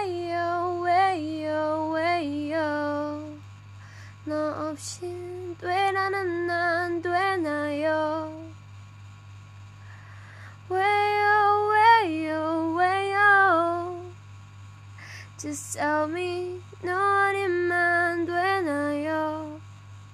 왜요 왜요 왜요 너 없인 되라는 난 되나요 왜요 왜요 왜요 Just tell me 너 아니면 되나요